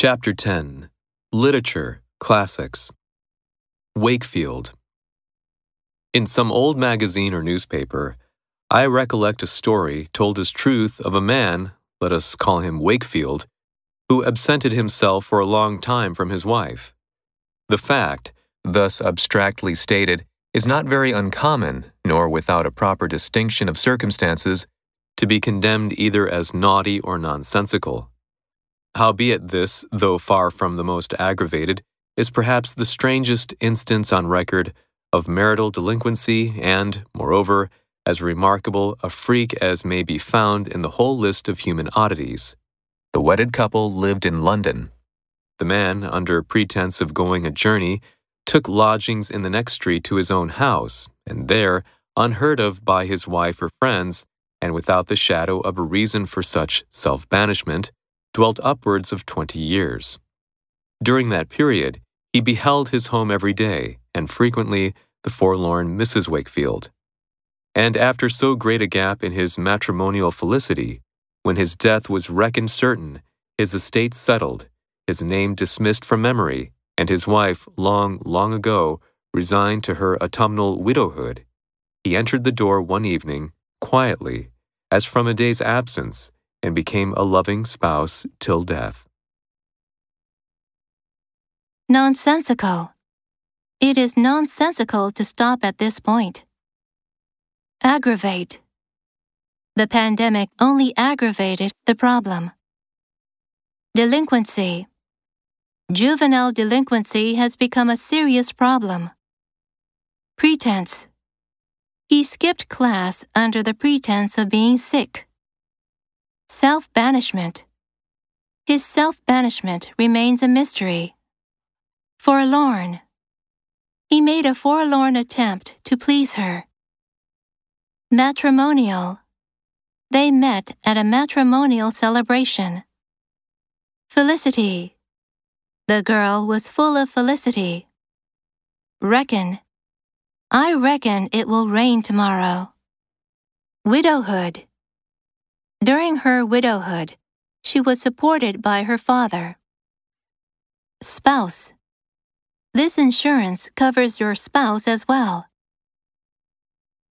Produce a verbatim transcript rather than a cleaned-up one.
Chapter ten. Literature, Classics. Wakefield. In some old magazine or newspaper, I recollect a story told as truth of a man, let us call him Wakefield, who absented himself for a long time from his wife. The fact, thus abstractly stated, is not very uncommon, nor without a proper distinction of circumstances, to be condemned either as naughty or nonsensical. Howbeit this, though far from the most aggravated, is perhaps the strangest instance on record of marital delinquency and, moreover, as remarkable a freak as may be found in the whole list of human oddities. The wedded couple lived in London. The man, under pretense of going a journey, took lodgings in the next street to his own house, and there, unheard of by his wife or friends, and without the shadow of a reason for such self-banishment, dwelt upwards of twenty years. During that period, he beheld his home every day, and frequently the forlorn Missus Wakefield. And after so great a gap in his matrimonial felicity, when his death was reckoned certain, his estate settled, his name dismissed from memory, and his wife long, long ago resigned to her autumnal widowhood, he entered the door one evening, quietly, as from a day's absence, and became a loving spouse till death. Nonsensical. It is nonsensical to stop at this point. Aggravate. The pandemic only aggravated the problem. Delinquency. Juvenile delinquency has become a serious problem. Pretense. He skipped class under the pretense of being sick. Self-banishment. His self-banishment remains a mystery. Forlorn. He made a forlorn attempt to please her. Matrimonial. They met at a matrimonial celebration. Felicity. The girl was full of felicity. Reckon. I reckon it will rain tomorrow. Widowhood. During her widowhood, she was supported by her father. Spouse. This insurance covers your spouse as well.